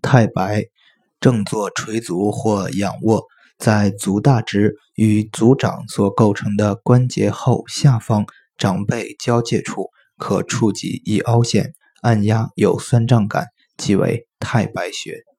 太白，正坐垂足或仰卧，在足大趾与足掌所构成的关节后下方掌背交界处，可触及一凹陷，按压有酸胀感，即为太白穴。